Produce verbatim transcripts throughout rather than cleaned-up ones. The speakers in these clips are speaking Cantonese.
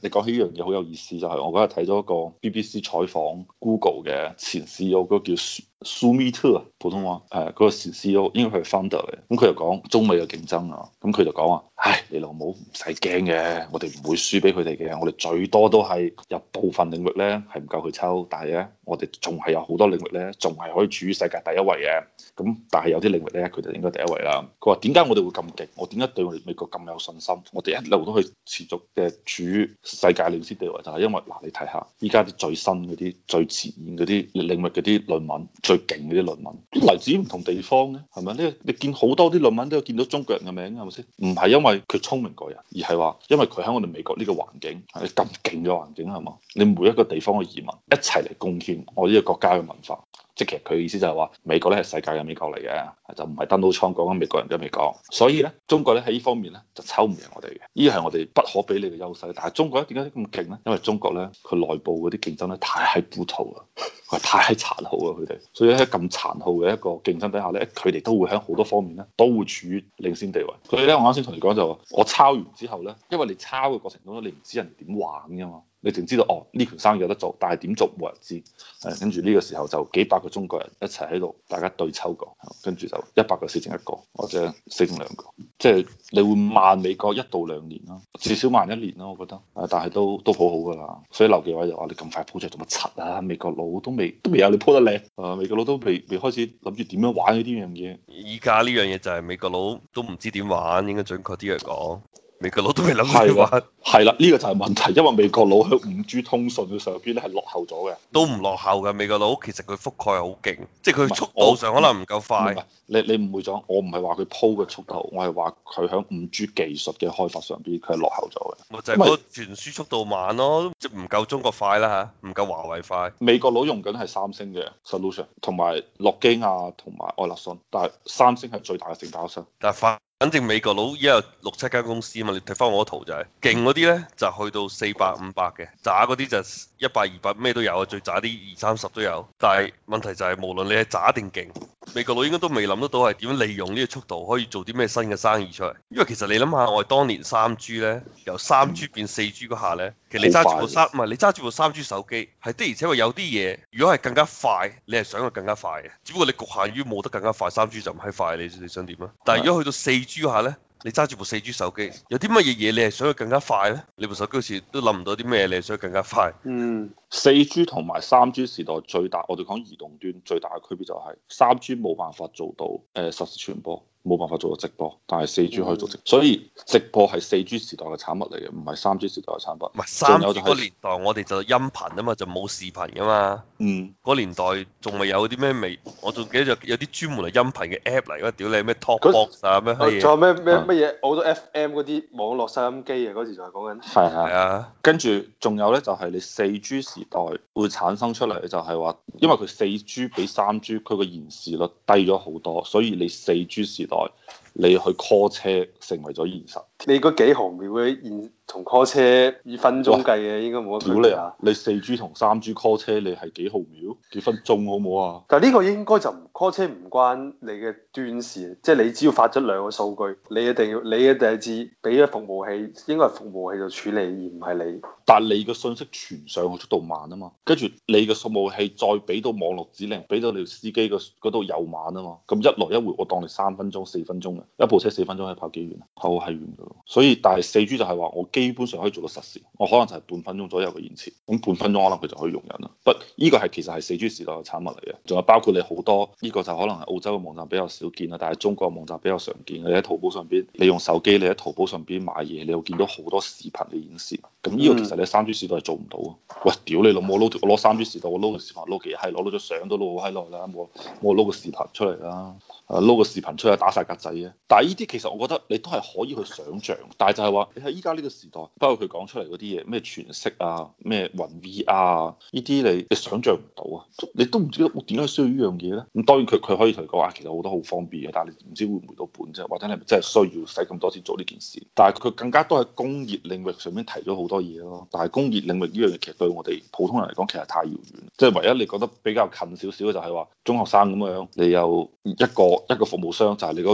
你講起呢樣嘢好有意思，就係、是、我嗰日睇咗一個 B B C 採訪 Google 嘅前 C E O，嗰個叫舒舒米特啊，普通話誒嗰、那個前 C E O 應該佢係 founder 嚟，咁佢就講中美嘅競爭啊，咁佢就講話，唉，你老母唔使驚嘅，我哋唔會輸俾佢哋嘅，我哋最多都係有部分領域咧係唔夠佢抽，但係咧我哋仲係有好多領域咧仲係可以處於世界第一位嘅，咁但係有啲領域咧佢就應該第一位啦。佢話點解我哋會咁勁？我點解對我哋美國咁有信心？我哋一路都可以持續嘅處於世界領先地位，就係、是、因為嗱，你睇下依家啲最新嗰啲、最前沿嗰啲領域嗰啲論文、最勁嗰啲論文，嚟自唔同地方嘅，係咪？你你見好多啲論文都有見到中國人嘅名，係咪先？唔係因為佢聰明過人，而係話因為佢喺我哋美國呢個環境係咁勁嘅環境，係嘛？你每一個地方嘅移民一齊嚟貢獻我呢個國家嘅文化。即係其實佢嘅意思就係話美國咧係世界嘅美國嚟嘅，就唔係 Donald Trump 講緊美國人嘅美國。所以咧中國咧喺呢方面咧就抽唔贏我哋嘅，呢個係我哋不可比擬嘅優勢。但係中國咧點解咁勁咧？因為中國咧佢內部嗰啲競爭咧太係 brutal 啦，佢太殘酷啦佢哋。所以喺咁殘酷嘅一個競爭底下咧，佢哋都會喺好多方面咧都會處於領先地位。所以咧我啱先同你講就話，我抄完之後咧，因為你抄嘅過程中咧，你唔知人哋點玩㗎嘛。你淨知道哦，呢盤生意有得做，但係點做冇人知。誒，跟住呢個時候就幾百個中國人一齊喺度，大家對抽過，跟住就一百個死剩一個，或者死剩兩個。即係你會慢美國一到兩年咯，至少慢一年咯，我覺得。誒，但係都都好好㗎啦。所以劉繼偉就話：你咁快鋪出做乜柒啊？美國佬都未都未有你鋪得靚。誒，美國佬都未未開始諗住點樣玩呢啲樣嘢。 依家呢樣嘢就係美國佬都唔知點玩，應該準確啲嚟講。美國佬都未諗住點玩。 係啦，呢個就係問題，因為美國佬喺五 G 通訊嘅上邊咧係落後咗嘅。 都唔落後嘅，美國佬其實佢覆蓋係好勁，即係佢速度上可能唔夠快。 唔係，你你誤會咗，我唔係話佢鋪嘅速度，我係話佢喺五 G 技術嘅開發上邊佢係落後咗嘅。 咪就係嗰個傳輸速度慢咯，即係唔夠中國快啦嚇，唔夠華為快。 美國佬用緊係三星嘅 solution，同埋諾基亞同埋愛立信，但係三星係最大嘅承包商。 但係快。反正美國佬依家有六七間公司啊嘛，你睇翻我個圖就係勁嗰啲咧就去到四百五百嘅，渣嗰啲就一百二百咩都有啊，最渣啲二三十都有。但係問題就係無論你係渣定勁，美國佬應該都未諗得到係點樣利用呢個速度可以做啲咩新嘅生意出嚟。因為其實你諗下，我哋當年三 G 咧由三 G 變四 G 嗰下咧，其實你揸住部三唔係你揸住部三 G 手機係的，而且確有啲嘢如果係更加快，你係想佢更加快嘅，只不過你局限於冇得更加快，三 G 就唔係快，你你想點啊？但係如果去到四 G 下咧，你揸住部四 G 手機，有啲乜嘢嘢你係想佢更加快咧？你部手機好似都諗唔到啲咩，你係想佢更加快。 嗯，四 G 同埋三 G 時代最大，我哋講移動端最大嘅區別就係三 G 冇辦法做到誒、呃、實時傳播。冇辦法做到直播，但係四 G 可以做直播，所以直播係四 G 時代嘅產物嚟嘅，唔係三 G 時代嘅產物。 唔係三 G 嗰年代，我哋就音頻啊嘛，就冇視頻噶嘛。嗯。嗰年代仲未有啲咩微，我仲記得有啲專門係音頻嘅 app 嚟，嗰屌你咩 Talkbox 啊咩閪嘢。 仲有咩咩乜嘢好多 F M 嗰啲網絡收音機啊，嗰時就係講緊。 係係啊。跟住仲有咧，就係你四 G 時代會產生出嚟，就係話，因為佢四 G 比三 G 佢個延時率低咗好多，所以你四 G 時代你去 call 車成為咗現實。 你嗰幾毫秒嘅現同 call 車以分鐘計嘅，應該冇乜區別。 屌你啊！你四 G 同三 G call 車，你係幾毫秒？幾分鐘好唔好啊？ 但係呢個應該就唔 call 車唔關你嘅端事，即係你只要發咗兩個數據，你一定要你一定係至俾咗服務器，應該係服務器度處理，而唔係你。 但係你嘅信息傳上去速度慢啊嘛，跟住你嘅服務器再俾到網絡指令，俾到你司機嗰度又慢啊嘛，咁一來一回我當你三分鐘、四分鐘嘅一部車四分鐘可以跑幾遠啊？好係遠㗎咯。所以但係四 G 就係話我基本上可以做到實時，我可能就係半分鐘左右嘅延遲，咁半分鐘可能佢就可以容忍啦。不，呢個係其實係四 G 時代嘅產物嚟嘅，仲有包括你好多呢個就可能係澳洲嘅網站比較少見啦，但係中國嘅網站比較常見嘅。你喺淘寶上邊，你用手機你喺淘寶上邊買嘢，你會見到好多視頻嘅演示。咁呢個其實你三 G 時代係做唔到啊！喂，屌你老母，我攞我攞三 G 時代，我撈個視頻撈幾閪，攞到咗相都撈好閪耐啦，我我撈個視頻出嚟啦，誒撈個視頻出嚟打晒格仔啊！但係呢啲其實我覺得你都係可以去想像，但係就係話你喺依家呢個時代，包括佢講出嚟嗰啲嘢，咩全息啊，咩雲 V R 啊，呢啲你你想像唔到啊！你都唔知我點解需要呢樣嘢咧？咁當然佢佢可以同你講話，其實好多好方便嘅，但係你唔知會唔會回到本啫，或者你係咪真係需要使咁多錢做呢件事？但係佢更加多喺工業領域上面提咗好多嘢咯。但係工業領域呢樣嘢其實對我哋普通人嚟講其實太遙遠，即係唯一你覺得比較近少少嘅就係話中學生咁樣，你有一個一個服務商就係你嗰個軟件服務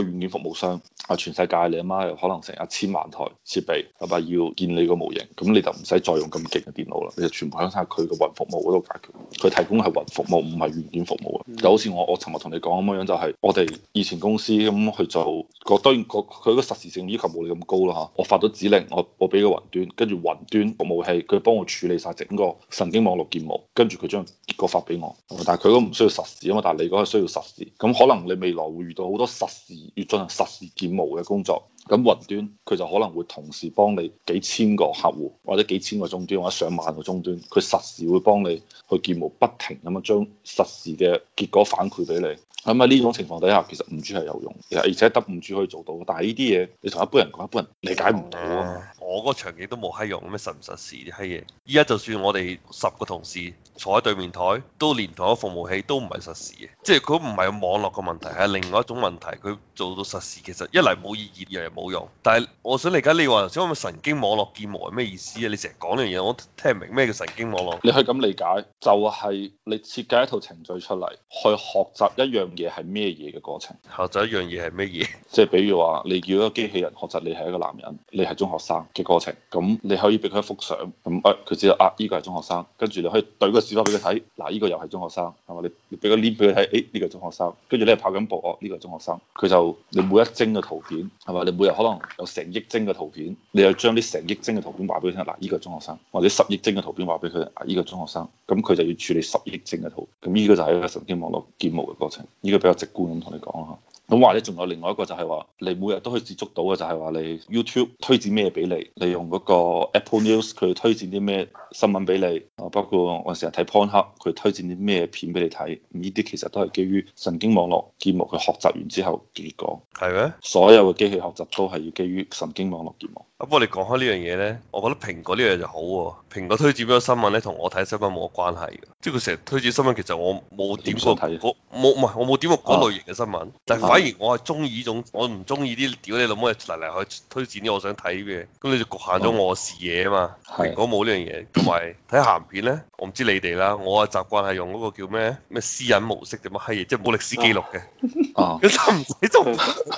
務商啊，全世界你阿媽有可能成一千萬台設備，係咪要建你個模型？咁你就唔使再用咁勁嘅電腦啦，你就全部喺晒佢嘅雲服務嗰度解決。佢提供係雲服務，唔係軟件服務啊。嗯、就好似我我尋日同你講咁樣，就係我哋以前公司咁去做，個當然佢個實時性要求冇你咁高啦嚇。我發咗指令，我我俾個雲端，跟住雲端服務器佢幫我處理晒整個神經網絡建模，跟住佢將結果發俾我。但係佢都唔需要實時啊嘛，但係你嗰個需要實時，咁可能你未來會遇到好多實時要進行實時建模嘅工作。咁雲端佢就可能會同時幫你幾千個客戶，或者幾千個終端，或者上萬個終端，佢實時會幫你去建模，不停咁樣將實時嘅結果反饋俾你。咁喺呢種情況底下，其實五 G 係有用，而且得五 G 可以做到。但係呢啲嘢你同一般人講，一般人理解唔到啊。 我嗰個場景都冇閪用，咩實唔實時啲閪嘢？依家就算我哋十個同事坐喺對面台，都連同一個服務器都唔係實時嘅，即係佢唔係網絡嘅問題，係另外一種問題。佢做到實時，其實一嚟冇意義，二嚟冇用。但係我想理解你話頭先咁嘅神經網絡建模係咩意思啊？你成日講呢樣嘢，我聽唔明咩叫神經網絡。 你可以咁理解，就係你設計一套程序出嚟，去學習一樣嘢係咩嘢嘅過程。 學習一樣嘢係咩嘢？ 即係比如話，你叫一個機器人學習你係一個男人，你係中學生嘅過程。咁你可以俾佢一幅相，咁誒佢知道啊，呢個係中學生。跟住你可以對個視頻俾佢睇，嗱呢個又係中學生，係嘛？你你俾個 link 俾佢睇，誒呢個係中學生。跟住你係跑緊步，哦呢個係中學生。佢就你每一幀嘅圖片係嘛？你每日可能有成億幀嘅圖片，你又將啲成億幀嘅圖片話俾佢聽，嗱呢個係中學生，或者十億幀嘅圖片話俾佢，啊呢個係中學生。咁佢就要處理十億幀嘅圖，咁呢個就係一個神經網絡建模嘅過程。呢個比較直觀咁同你講下。咁或者仲有另外一個就係話，你每日都可以接觸到嘅就係話，你 YouTube 推薦咩俾你，你用嗰個 Apple News 佢推薦啲咩新聞俾你，啊包括我成日睇 Pornhub 佢推薦啲咩片俾你睇，呢啲其實都係基於神經網絡建模佢學習完之後嘅結果。 係咩？ 所有嘅機器學習都係要基於神經網絡建模。 啊，不過你講開呢樣嘢咧，我覺得蘋果呢樣就好喎。蘋果推薦俾個新聞咧，同我睇新聞冇乜關係嘅。即係佢成日推薦新聞，其實我冇點過嗰冇唔係我冇點過嗰類型嘅新聞。啊、但係反而我係中意呢種，我唔中意啲屌你老母嚟嚟去推薦啲我想睇嘅。咁你就局限咗我視野啊嘛。啊蘋果冇呢樣嘢，同埋睇鹹片咧，我唔知你哋啦。我嘅習慣係用嗰個叫咩咩私隱模式定乜閪嘢，即係冇歷史記錄嘅。啊，咁就唔使做。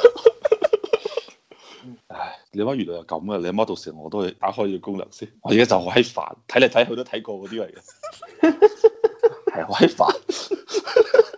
唉，你阿媽原來係咁嘅，你阿媽到時我都會打開呢個功能先。我而家就好閪煩，睇嚟睇去都睇過嗰啲嚟嘅，係好閪煩。